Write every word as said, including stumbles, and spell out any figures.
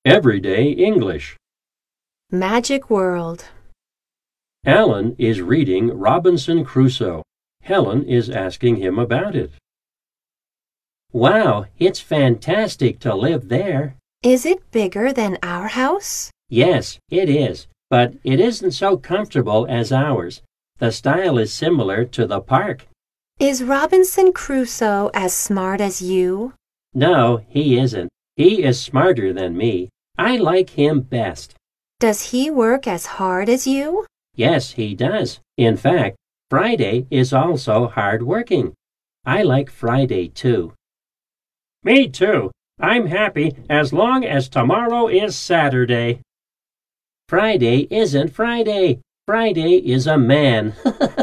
Everyday English. Magic World. Alan is reading Robinson Crusoe. Helen is asking him about it. Wow, it's fantastic to live there. Is it bigger than our house? Yes, it is, but it isn't so comfortable as ours. The style is similar to the park. Is Robinson Crusoe as smart as you? No, he isn't. He is smarter than me. I like him best. Does he work as hard as you? Yes, he does. In fact, Friday is also hard working. I like Friday too. Me too. I'm happy as long as tomorrow is Saturday. Friday isn't Friday. Friday is a man.